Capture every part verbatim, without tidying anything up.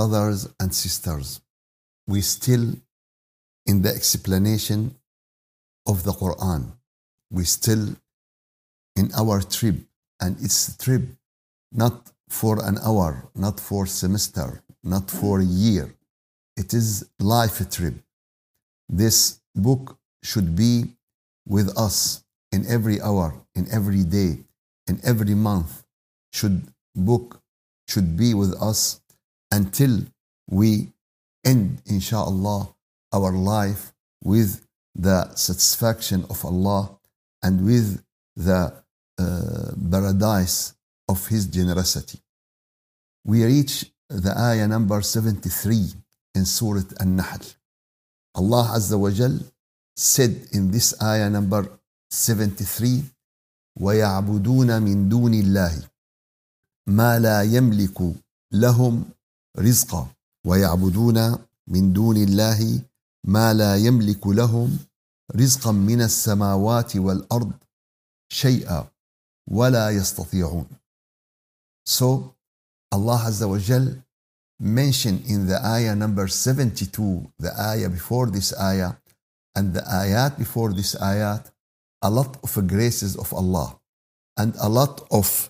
brothers and sisters, we still in the explanation of the Quran. We still in our trip, and it's a trip not for an hour, not for semester, not for a year. It is life trip. This book should be with us in every hour, in every day, in every month. Should book should be with us until we end, inshallah, our life with the satisfaction of Allah and with the uh, paradise of His generosity. We reach the ayah number seventy-three in Surah An-Nahl. Allah Azza wa Jal said in this ayah number seventy-three, وَيَعْبُدُونَ مِن دُونِ اللَّهِ مَا لَا يَمْلِكُ لَهُمْ رِزْقًا وَيَعْبُدُونَ مِن دُونِ اللَّهِ مَا لَا يَمْلِكُ لَهُمْ رِزْقًا مِنَ السَّمَاوَاتِ وَالْأَرْضِ شَيْئًا وَلَا يَسْتَطِيعُونَ. So Allah Azza wa Jal mentioned in the ayah number seventy-two, the ayah before this ayah, and the ayat before this ayat, a lot of graces of Allah and a lot of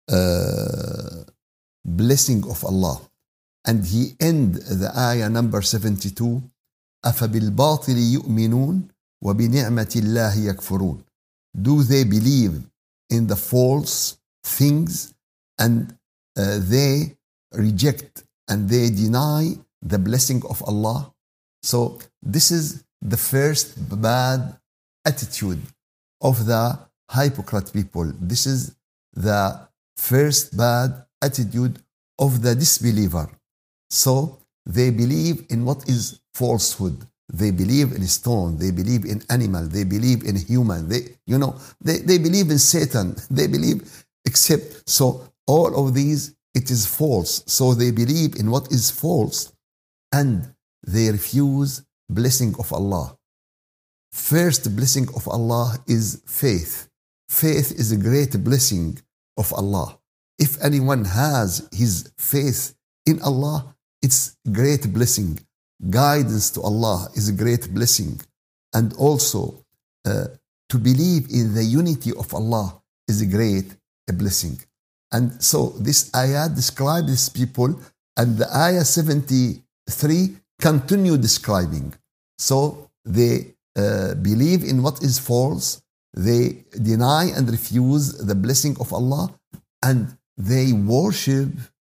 uh, blessing of Allah. And He end the ayah number seventy-two, أَفَبِالْبَاطِلِ يُؤْمِنُونَ وَبِنِعْمَةِ اللَّهِ يَكْفُرُونَ. Do they believe in the false things and uh, they reject and they deny the blessing of Allah? So this is the first bad attitude of the hypocrite people. This is the first bad attitude of the disbeliever. So they believe in what is falsehood. They believe in stone. They believe in animal. They believe in human. They, you know, they, they believe in Satan. They believe except, so all of these, it is false. So they believe in what is false and they refuse blessing of Allah. First blessing of Allah is faith. Faith is a great blessing of Allah. If anyone has his faith in Allah, it's great blessing. Guidance to Allah is a great blessing. And also uh, to believe in the unity of Allah is a great a blessing. And so this ayah describes these people, and the ayah seventy-three continue describing. So they uh, believe in what is false, they deny and refuse the blessing of Allah, and they worship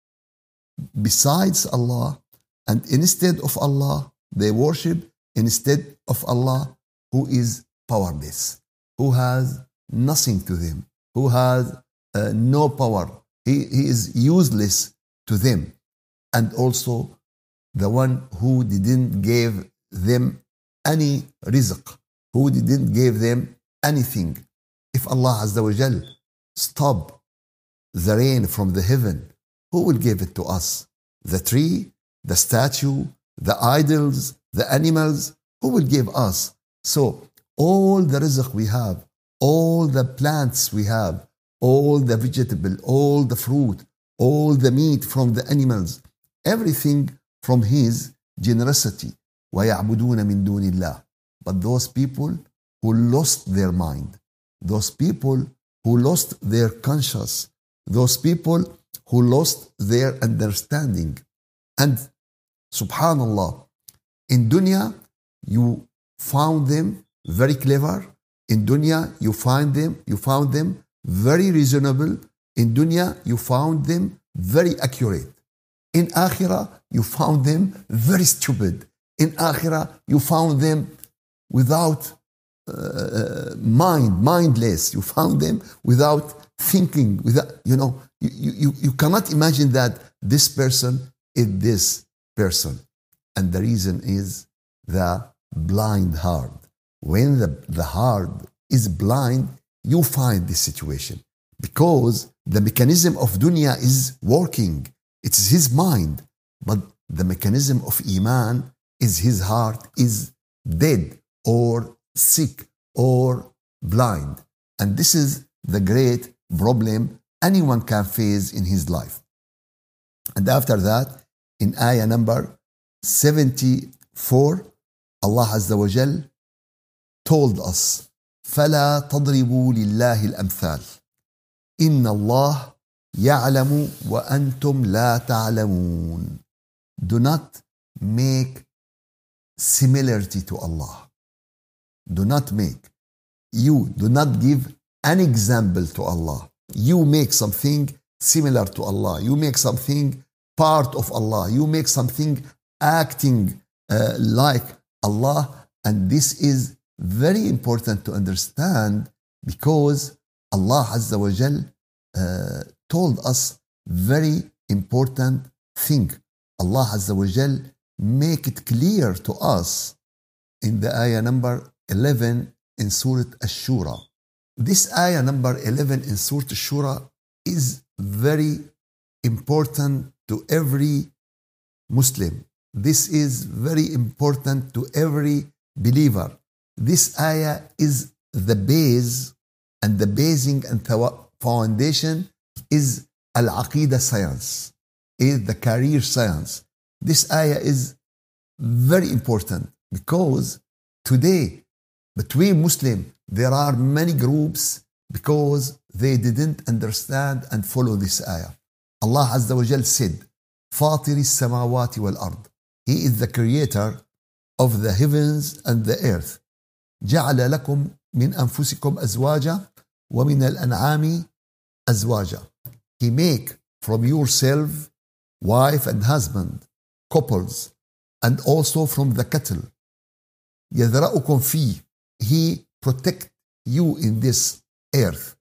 besides Allah, and instead of Allah, they worship instead of Allah who is powerless, who has nothing to them, who has uh, no power. He, he is useless to them. And also the one who didn't give them any rizq, who didn't give them anything. If Allah Azza wa Jal stop the rain from the heaven, who will give it to us? The tree, the statue, the idols, the animals, who will give us? So all the rizq we have, all the plants we have, all the vegetable, all the fruit, all the meat from the animals, everything from His generosity. وَيَعْبُدُونَ مِن دُونِ اللَّهِ. But those people who lost their mind, those people who lost their conscience, those people who lost their understanding. And subhanallah, in dunya you found them very clever. In dunya you find them, you found them very reasonable. In dunya you found them very accurate. In akhirah you found them very stupid. In akhirah you found them without uh, mind, mindless. You found them without thinking, without, you know, you, you, you cannot imagine that this person is this person. And the reason is the blind heart. When the, the heart is blind, you find this situation. Because the mechanism of dunya is working. It's his mind. But the mechanism of iman is his heart is dead or sick or blind. And this is the great problem anyone can face in his life. And after that, in ayah number seventy-four, Allah Azza wa Jal told us, فَلَا تَضْرِبُوا لِلَّهِ الْأَمْثَالِ إِنَّ اللَّهَ يَعْلَمُ وَأَنْتُمْ لَا تَعْلَمُونَ. Do not make similarity to Allah. Do not make. You do not give an example to Allah. You make something similar to Allah. You make something part of Allah. You make something acting uh, like Allah. And this is very important to understand, because Allah Azza wa Jal uh, told us very important thing. Allah Azza wa Jal make it clear to us in the ayah number eleven in Surah Ash-Shura. This ayah number eleven in Surah Ash-Shura is very important to every Muslim. This is very important to every believer. This ayah is the base, and the basing and the foundation is Al-Aqidah science, is the career science. This ayah is very important because today between Muslims there are many groups because they didn't understand and follow this ayah. Allah Azza wa Jal said, فاطر السماوات والأرض. He is the creator of the heavens and the earth. جعل لكم من أنفسكم أزواجا ومن الأنعام أزواجا. He make from yourself wife and husband, couples, and also from the cattle. يذرأكم فيه. He protect you in this earth.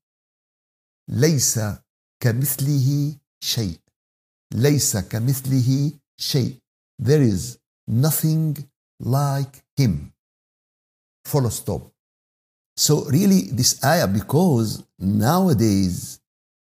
ليس كمثله شيء. ليس كمثله شيء. There is nothing like him. Full stop. So really this ayah, because nowadays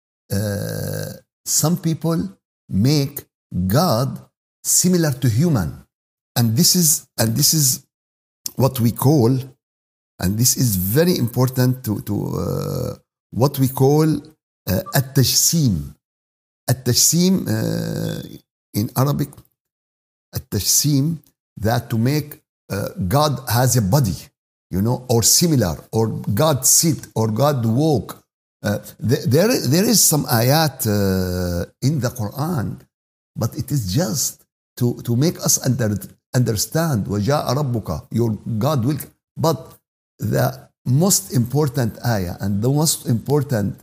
uh, some people make God similar to human, and this is and this is what we call, and this is very important to to uh, what we call uh, at-tajsim. At-tajsim uh, in Arabic, at-tajsim, that to make uh, God has a body, you know, or similar, or God sit, or God walk. Uh, there, there, there is some ayat uh, in the Quran, but it is just to, to make us under, understand, وَجَاءَ رَبُّكَ, your God will. But the most important ayah and the most important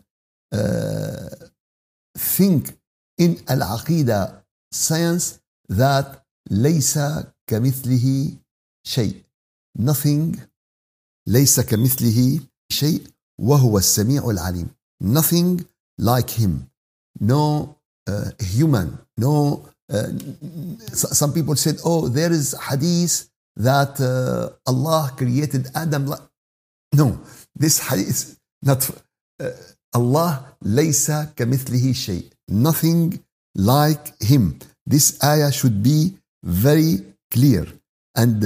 uh, thing in Al-Aqidah science, that لَيْسَ كَمِثْلِهِ شيء. Nothing. ليس كمثله شيء وهو السميع العليم. Nothing like him. No uh, human. No. Uh, some people said, oh, there is hadith that uh, Allah created Adam. No, this hadith is not. Uh, Allah ليس كمثله شيء. Nothing like him. This ayah should be very clear and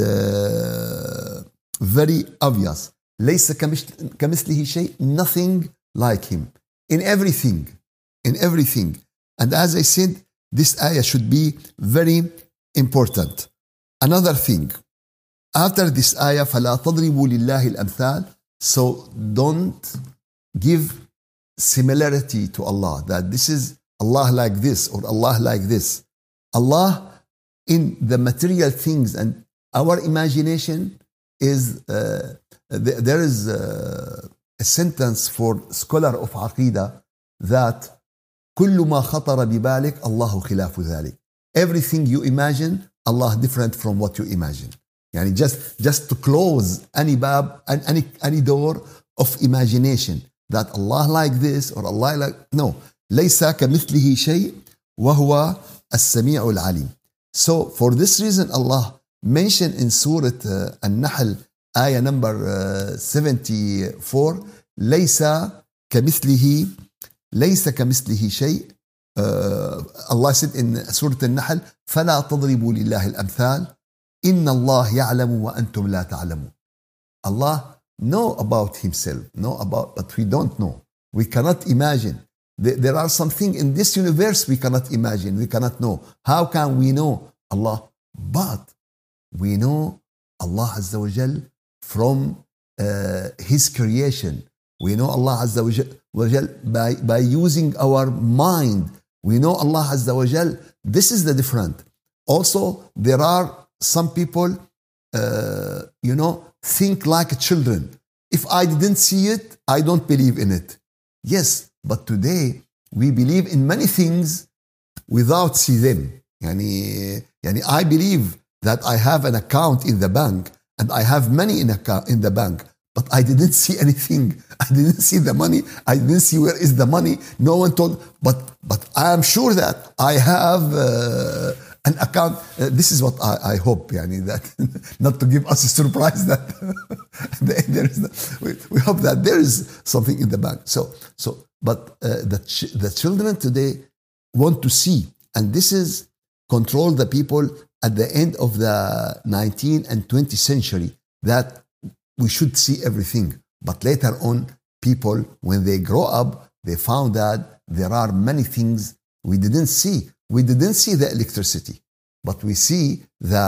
uh, very obvious. ليس كمثله شيء. Nothing like him. In everything. In everything. And as I said, this ayah should be very important. Another thing. After this ayah, فَلَا تَضْرِبُوا لِلَّهِ الْأَمْثَالِ. So don't give similarity to Allah. That this is Allah like this or Allah like this. Allah in the material things and our imagination is, uh, th- there is uh, a sentence for scholar of Aqidah that كل ما خطر ببالك الله خلاف ذلك. Everything you imagine, Allah different from what you imagine. يعني just, just to close any bab and any, any door of imagination that Allah like this or Allah like, no. ليس كمثله شيء وهو السميع العليم. So for this reason Allah mentioned in Surah uh, An-Nahl ayah number uh, seventy-four, ليس كمثله ليس كمثله شيء. uh, Allah said in Surah An-Nahl, فلا تضربوا لله الأمثال إن الله يعلم وأنتم لا تعلمون. Allah know about himself, know about, but we don't know. We cannot imagine. There, there are something in this universe we cannot imagine, we cannot know. How can we know Allah? But we know Allah Azza wa Jal from uh, His creation. We know Allah Azza wa Jal by, by using our mind. We know Allah Azza wa Jal. This is the different. Also, there are some people, uh, you know, think like children. If I didn't see it, I don't believe in it. Yes, but today we believe in many things without see them. Yani, yani I believe that I have an account in the bank and I have money in, account, in the bank, but I didn't see anything. I didn't see the money. I didn't see where is the money. No one told, but, but I am sure that I have uh, an account. Uh, this is what I, I hope, yani, that not to give us a surprise that there is no, we, we hope that there is something in the bank. So, so but uh, the, ch- the children today want to see, and this is control the people at the end of the nineteenth and twentieth century, that we should see everything. But later on, people, when they grow up, they found that there are many things we didn't see. We didn't see the electricity, but we see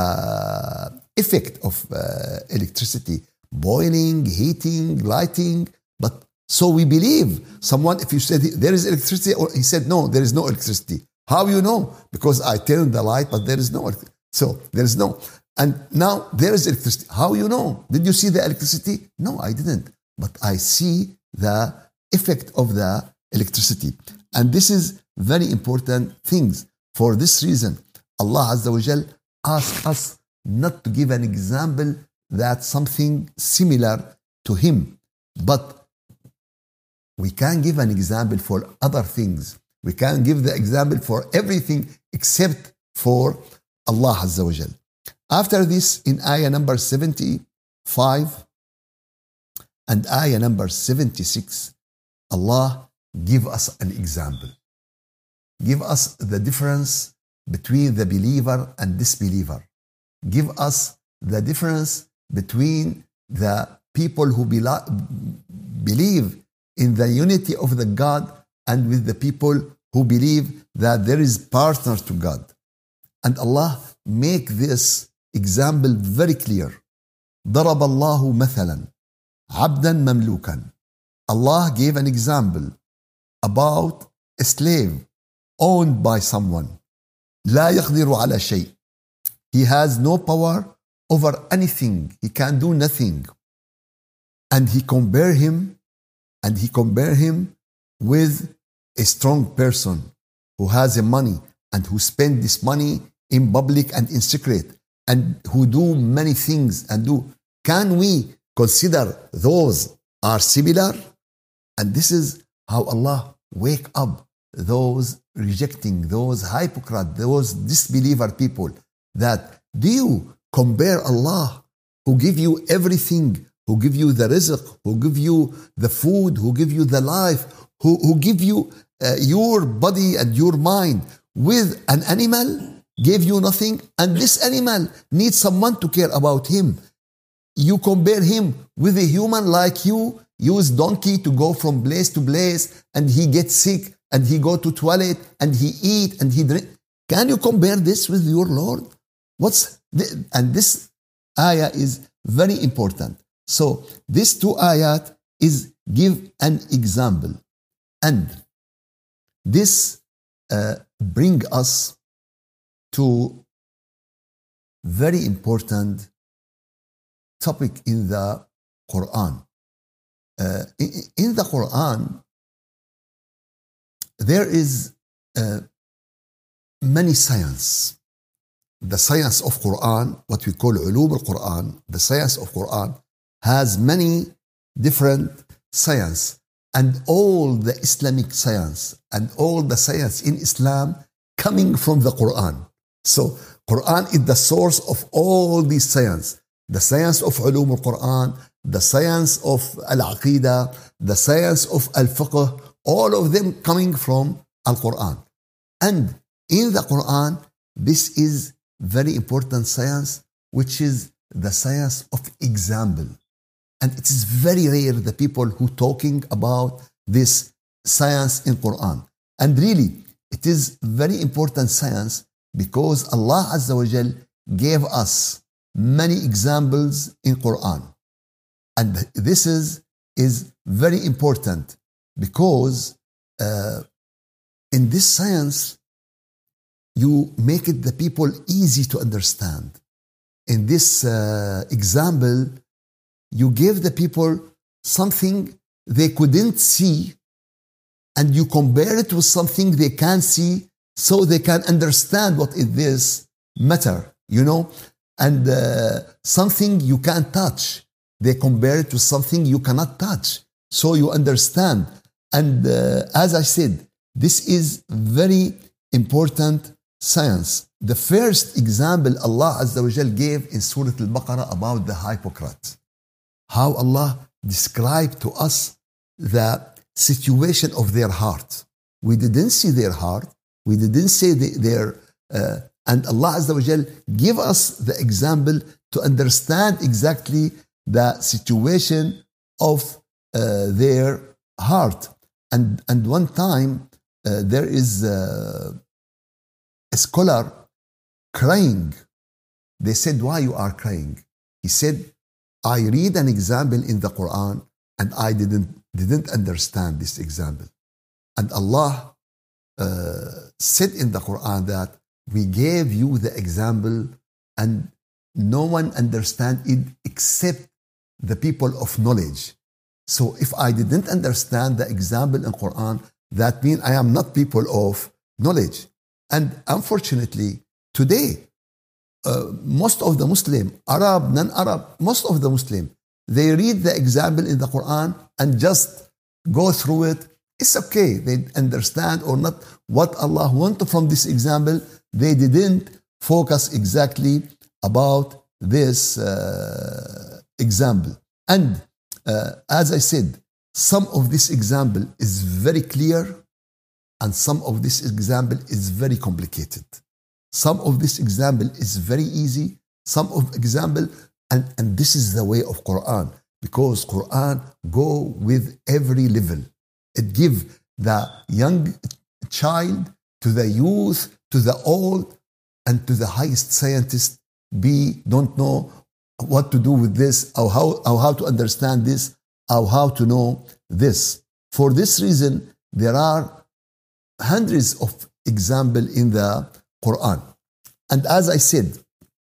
the effect of uh, electricity, boiling, heating, lighting. But so we believe someone, if you said there is electricity, or he said, no, there is no electricity. How you know? Because I turned the light, but there is no electricity. So there is no. And now there is electricity. How you know? Did you see the electricity? No, I didn't. But I see the effect of the electricity. And this is very important things. For this reason, Allah Azza wa Jal asks us not to give an example that's something similar to Him. But we can give an example for other things. We can give the example for everything except for Allah Azza wa Jal. After this, in ayah number seventy-five and ayah number seventy-six, Allah give us an example. Give us the difference between the believer and disbeliever. Give us the difference between the people who be- believe in the unity of the God and with the people who believe that there is partner to God. And Allah make this example very clear. ضرب الله مثلا عبدا مملوكا. Allah gave an example about a slave owned by someone. لا يقدر على شيء. He has no power over anything. He can do nothing. And he compare him, and he compare him with a strong person who has a money and who spend this money in public and in secret, and who do many things and do. Can we consider those are similar? And this is how Allah wake up those rejecting, those hypocrite, those disbeliever people, that do you compare Allah, who give you everything, who give you the rizq, who give you the food, who give you the life, who, who give you uh, your body and your mind, with an animal? Gave you nothing, and this animal needs someone to care about him. You compare him with a human like you, use donkey to go from place to place, and he gets sick, and he go to toilet, and he eat, and he drink. Can you compare this with your Lord? What's the, and this ayah is very important. So this two ayat is give an example, and this uh, bring us to very important topic in the Quran. Uh, in, in the Quran, there is uh, many science. The science of Quran, what we call ulum al-Quran, the science of Quran has many different science, and all the Islamic science and all the science in Islam coming from the Quran. So Quran is the source of all these science. The science of ulum al-Quran, the science of al-Aqidah, the science of al-Fiqh, all of them coming from al-Quran. And in the Quran, this is very important science, which is the science of example. And it is very rare the people who talking about this science in Quran. And really, it is very important science because Allah Azza wa Jal gave us many examples in Quran. And this is, is very important because uh, in this science, you make it the people easy to understand. In this uh, example, you give the people something they couldn't see and you compare it with something they can see so they can understand what is this matter, you know, and uh, something you can't touch. They compare it to something you cannot touch so you understand. And uh, as I said, this is very important science. The first example Allah Azza wa Jal gave in Surah Al-Baqarah about the hypocrites. How Allah described to us the situation of their heart. We didn't see their heart. We didn't see the, their... Uh, and Allah Azza wa Jal give us the example to understand exactly the situation of uh, their heart. And, and one time uh, there is uh, a scholar crying. They said, why you are crying? He said, I read an example in the Quran and I didn't, didn't understand this example. And Allah uh, said in the Quran that we gave you the example and no one understand it except the people of knowledge. So if I didn't understand the example in Quran, that means I am not people of knowledge. And unfortunately, today, uh, most of the Muslim, Arab, non-Arab, most of the Muslim, they read the example in the Quran and just go through it. It's okay. They understand or not what Allah wanted from this example. They didn't focus exactly about this uh, example. And uh, as I said, some of this example is very clear and some of this example is very complicated. Some of this example is very easy. Some of example, and, and this is the way of Quran, because Quran go with every level. It give the young child to the youth, to the old, and to the highest scientist. Be don't know what to do with this, or how, or how to understand this, or how to know this. For this reason, there are hundreds of examples in the Quran. And as I said,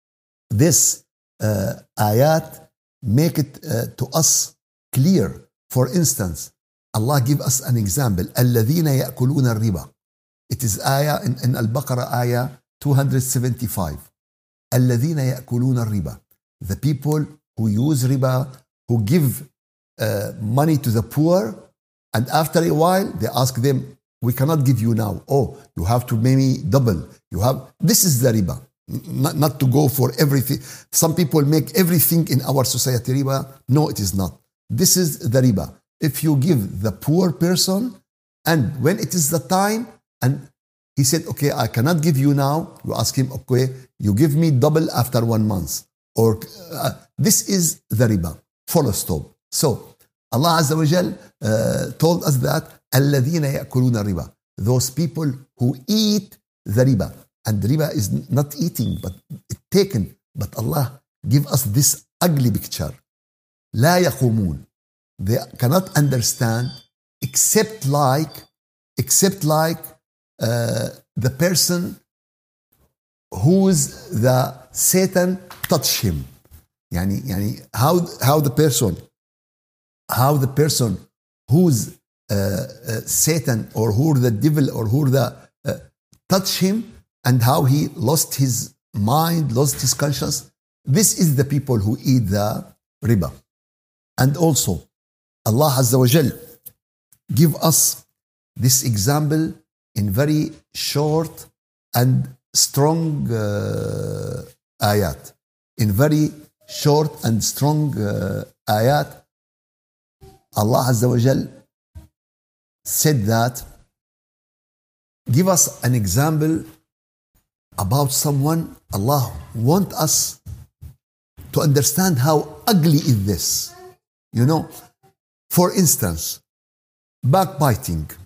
this uh, ayat make it uh, to us clear. For instance, Allah give us an example. الَّذِينَ يَأْكُلُونَ الرِّبَى. It is ayah in, in Al-Baqarah ayah two hundred seventy-five. الَّذِينَ يَأْكُلُونَ الرِّبَى. The people who use riba, who give uh, money to the poor, and after a while they ask them, we cannot give you now. Oh, you have to maybe double. You have, this is the riba. Not, not to go for everything. Some people make everything in our society riba. No, it is not. This is the riba. If you give the poor person, and when it is the time, and he said, okay, I cannot give you now. You ask him, okay, you give me double after one month. Or uh, this is the riba. Full stop. So Allah Azza wa Jal uh, told us that الَّذِينَ يَأْكُلُونَ الرِّبَى. Those people who eat the riba. And riba is not eating, but taken. But Allah give us this ugly picture. لَا يَقُومُونَ. They cannot understand except like, except like uh, the person who's the Satan touch him. Yani, yani how, how the person, how the person who's uh, uh, Satan or who the devil or who the uh, touch him and how he lost his mind, lost his conscience. This is the people who eat the riba. And also, Allah Azza wa Jal give us this example in very short and strong uh, ayat. In very short and strong uh, ayat, Allah Azza wa Jal said that, give us an example about someone. Allah want us to understand how ugly is this. You know, for instance, backbiting.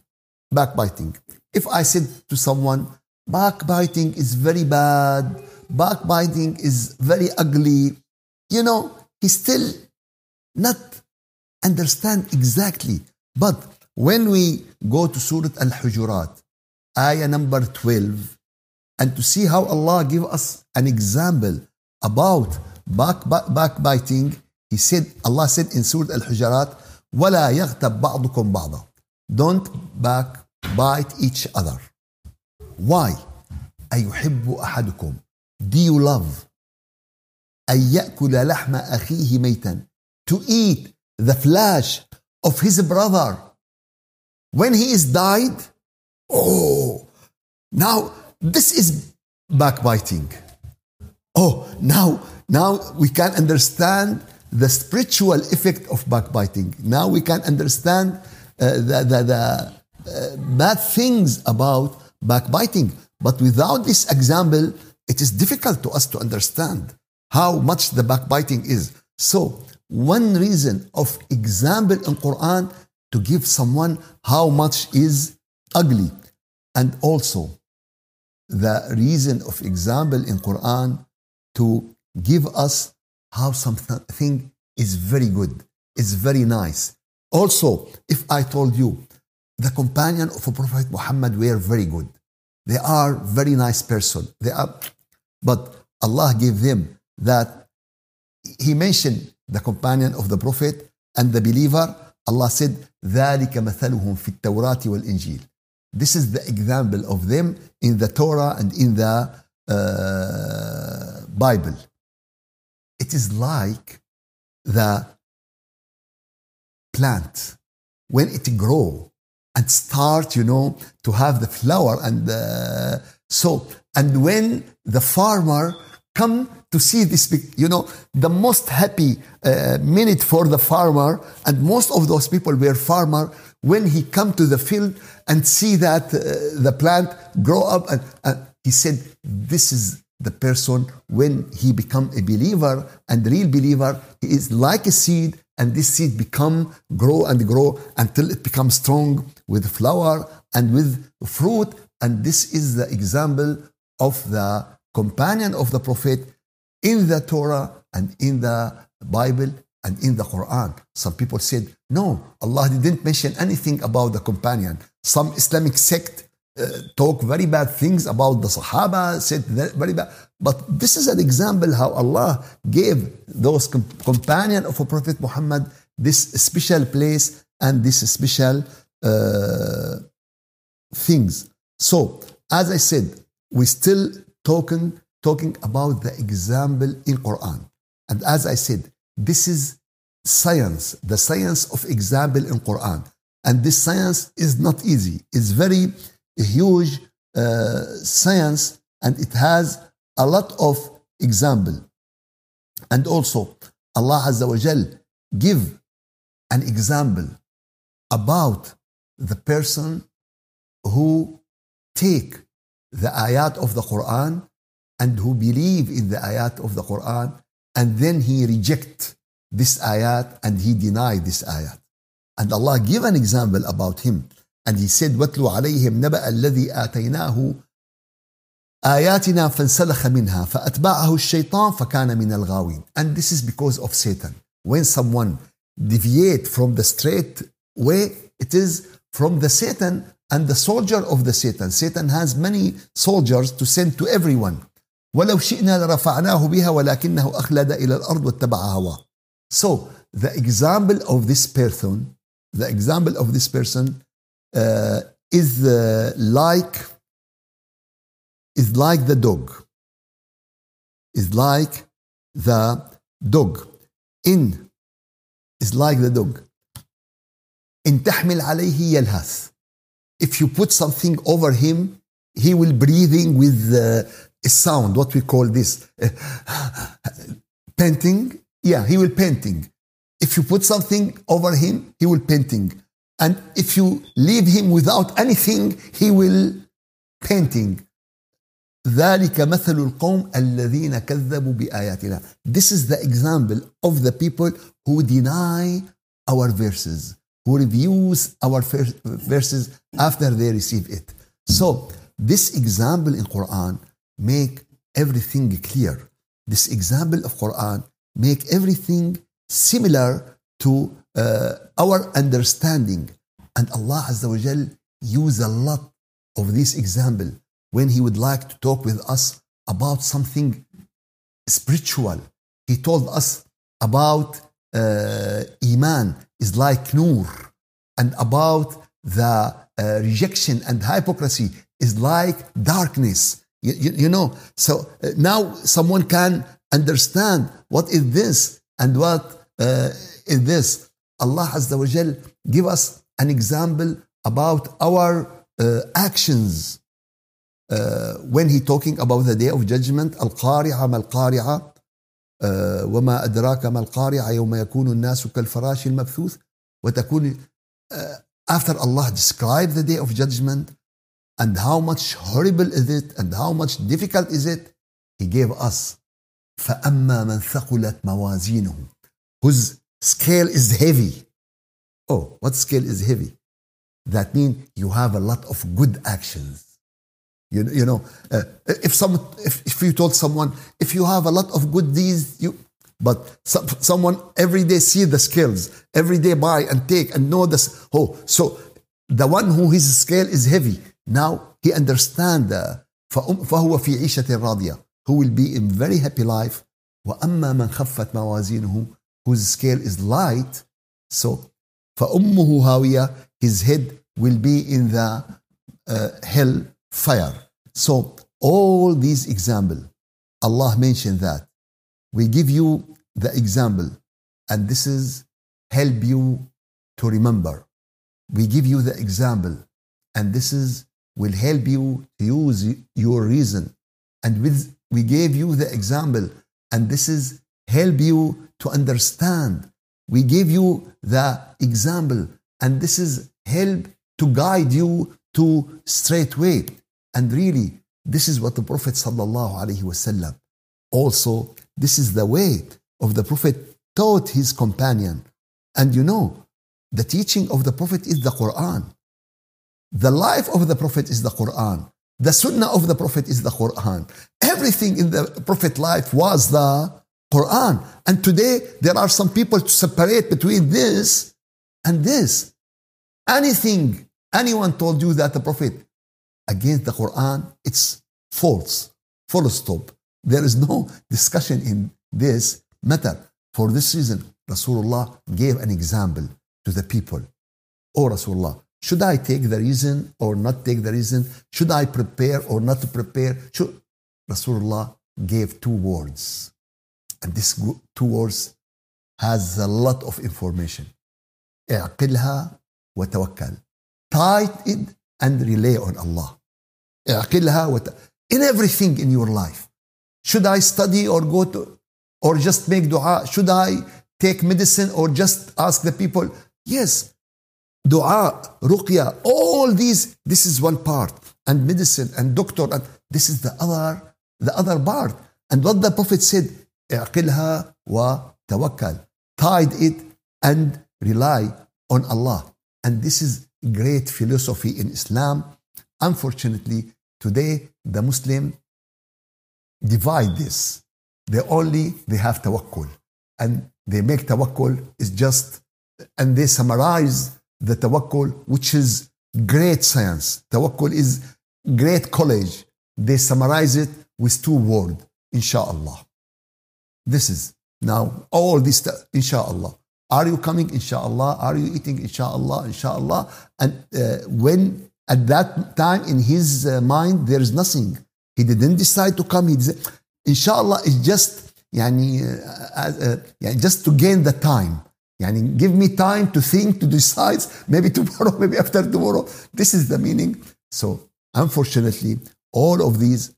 backbiting. If I said to someone, backbiting is very bad, backbiting is very ugly, you know, he still not understand exactly. But when we go to Surah Al-Hujurat, ayah number twelve, and to see how Allah give us an example about back, back, backbiting, He said, Allah said in Surah Al-Hujurat, وَلَا يَغْتَبْ بَعْضُكُمْ بَعْضًا. Don't backbite each other. Why? أَيُحِبُّ أَحَدُكُمْ. Do you love أَن يَأْكُلَ لَحْمَ أَخِيهِ مَيْتًا. To eat the flesh of his brother when he is died? Oh, now this is backbiting. Oh, now, now we can understand the spiritual effect of backbiting. Now we can understand uh, the, the, the uh, bad things about backbiting. But without this example, it is difficult to us to understand how much the backbiting is. So, one reason of example in Quran to give someone how much is ugly. And also, the reason of example in Quran to give us how something is very good, is very nice. Also, if I told you the companion of a Prophet Muhammad were very good, they are very nice person. They are, but Allah gave them that. He mentioned the companion of the Prophet and the believer. Allah said, ذَلِكَ مَثَلُهُمْ فِي التَّوْرَاةِ وَالْإِنْجِيلِ. This is the example of them in the Torah and in the uh, Bible. It is like the plant when it grow and start, you know, to have the flower and the, so, and when the farmer come to see this, you know, the most happy uh, minute for the farmer, and most of those people were farmer, when he come to the field and see that uh, the plant grow up, and, and he said, this is the person when he become a believer and real believer, he is like a seed, and this seed become, grow and grow until it becomes strong with flower and with fruit. And this is the example of the companion of the Prophet in the Torah and in the Bible and in the Quran. Some people said, no, Allah didn't mention anything about the companion. Some Islamic sect uh, talk very bad things about the Sahaba, said very bad. But this is an example how Allah gave those com- companion of a Prophet Muhammad this special place and this special uh, things. So, as I said, we still talking talking about the example in Quran. And as I said, this is science, the science of example in Quran. And this science is not easy. It's very huge uh, science, and it has a lot of example. And also, Allah Azza wa Jal give an example about the person who take the ayat of the Quran and who believe in the ayat of the Quran, and then he reject this ayat and he deny this ayat. And Allah give an example about him. And he said, وَاتْلُ عَلَيْهِمْ نَبَأَ الَّذِي آتَيْنَاهُ آيَاتِنَا فَانْسَلَخَ مِنْهَا فَأَتْبَعَهُ الشَّيْطَانُ فَكَانَ مِنَ الْغَاوِينَ. And this is because of Satan. When someone deviate from the straight way, it is from the Satan and the soldier of the Satan. Satan has many soldiers to send to everyone. وَلَوْ شِئْنَا لَرَفَعْنَاهُ بِهَا وَلَكِنَّهُ أَخْلَدَ إِلَى الْأَرْضِ وَاتَّبَعَ هَوَاهُ. So, the example of this person, the example of this person uh, is uh, like is like the dog. Is like the dog. In is like the dog. إن تحمل عليه يلهث. If you put something over him, he will breathing with uh, a sound, what we call this, uh, panting. Yeah, he will panting. If you put something over him, he will panting. And if you leave him without anything, he will panting. ذَلِكَ مَثَلُ الْقَوْمِ الَّذِينَ كَذَّبُوا بِآيَاتِنَا. This is the example of the people who deny our verses. who reviews our verses after they receive it. So this example in Quran make everything clear. This example of Quran make everything similar to uh, our understanding. And Allah Azza wa Jal use a lot of this example when He would like to talk with us about something spiritual. He told us about uh, Iman is like Noor, and about the uh, rejection and hypocrisy is like darkness. You, you, you know, so uh, now someone can understand what is this and what uh, is this. Allah Azza wa Jal give us an example about our uh, actions uh, when he talking about the day of judgment. Al-Qari'ah mal-Qari'ah uh, وما أدراك ما القارعة يوم يكون الناس كالفراش المبثوث وتكون uh, after Allah described the day of judgment and how much horrible is it and how much difficult is it, He gave us فأما من ثقلت موازينه, whose scale is heavy. Oh, what scale is heavy? That means you have a lot of good actions. You, you know, uh, if some, if, if you told someone, if you have a lot of good deeds, you, but some, someone every day see the scales, every day buy and take and know this. Oh, so the one who his scale is heavy, now he understand the فهو في عيشة راضية, who will be in very happy life. وأما من خفت موازينه, whose scale is light, so فأمه هاوية, his head will be in the uh, hell fire. So all these examples, Allah mentioned that. We give you the example, and this is help you to remember. We give you the example, and this is will help you to use your reason. And with we gave you the example, and this is help you to understand. We gave you the example, and this is help to guide you to straight way. And really, this is what the Prophet sallallahu alaihi wasallam also, this is the way of the Prophet taught his companion. And you know, the teaching of the Prophet is the Quran. The life of the Prophet is the Quran. The Sunnah of the Prophet is the Quran. Everything in the Prophet life was the Quran. And today, there are some people to separate between this and this. Anything, anyone told you that the Prophet against the Quran, it's false. Full stop. There is no discussion in this matter. For this reason, Rasulullah gave an example to the people. Oh Rasulullah, should I take the reason or not take the reason? Should I prepare or not to prepare? Should... Rasulullah gave two words. And these two words has a lot of information. اعقلها وتوكل. Tight it and rely on Allah. اعقلها وت... In everything in your life. Should I study or go to, or just make dua? Should I take medicine or just ask the people? Yes. Dua, ruqya, all these, this is one part. And medicine and doctor, and this is the other, the other part. And what the Prophet said, اعقلها وتوكل. Tied it and rely on Allah. And this is great philosophy in Islam. Unfortunately, today the Muslim divide this. They only, they have tawakkul. And they make tawakkul is just, and they summarize the tawakkul, which is great science. Tawakkul is great college. They summarize it with two words, inshallah. This is now all this, inshallah. Are you coming, inshallah? Are you eating, inshallah, inshallah? And uh, when at that time in his uh, mind, there is nothing. He didn't decide to come. He did, inshallah, it's just, yani, uh, uh, just to gain the time. Yani, give me time to think, to decide, maybe tomorrow, maybe after tomorrow. This is the meaning. So, unfortunately, all of these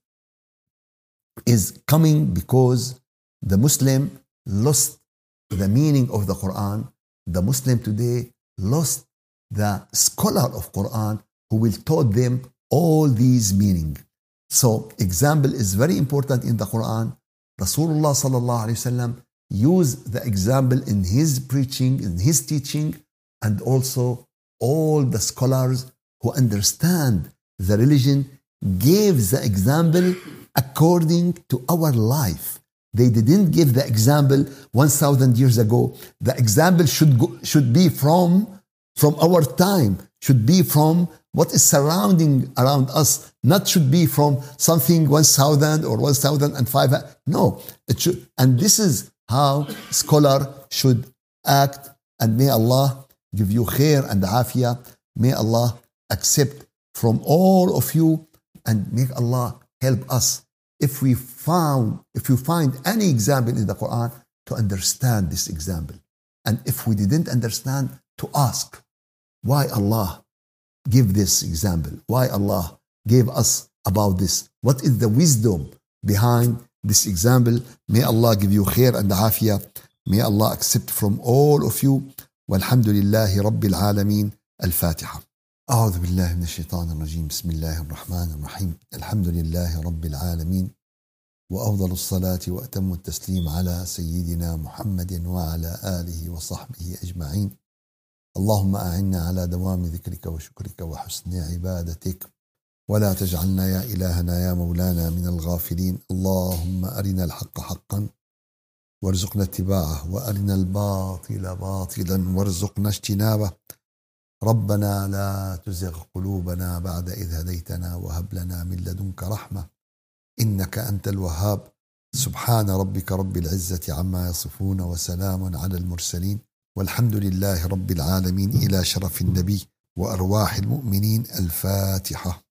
is coming because the Muslim lost the meaning of the Quran. The Muslim today lost the scholar of Quran who will taught them all these meaning. So example is very important in the Quran. Rasulullah sallallahu alaihi wasallam used the example in his preaching, in his teaching, and also all the scholars who understand the religion gave the example according to our life. They didn't give the example one thousand years ago. The example should go, should be from, from our time, should be from what is surrounding around us, not should be from something one thousand or one thousand five hundred. No, it should, and this is how scholar should act. And may Allah give you khair and afiyah. May Allah accept from all of you, and make Allah help us if we found, if you find any example in the Quran, to understand this example. And if we didn't understand, to ask why Allah give this example, why Allah gave us about this, what is the wisdom behind this example. May Allah give you khair and afiyah. May Allah accept from all of you. Walhamdulillahi Rabbil Alameen. Al-Fatiha. أعوذ بالله من الشيطان الرجيم. بسم الله الرحمن الرحيم. الحمد لله رب العالمين، وأفضل الصلاة وأتم التسليم على سيدنا محمد وعلى آله وصحبه أجمعين. اللهم أعنا على دوام ذكرك وشكرك وحسن عبادتك، ولا تجعلنا يا إلهنا يا مولانا من الغافلين. اللهم أرنا الحق حقا وارزقنا اتباعه، وأرنا الباطل باطلا وارزقنا اجتنابه. ربنا لا تزغ قلوبنا بعد إذ هديتنا، وهب لنا من لدنك رحمة إنك أنت الوهاب. سبحان ربك رب العزة عما يصفون، وسلام على المرسلين، والحمد لله رب العالمين. إلى شرف النبي وأرواح المؤمنين. الفاتحة.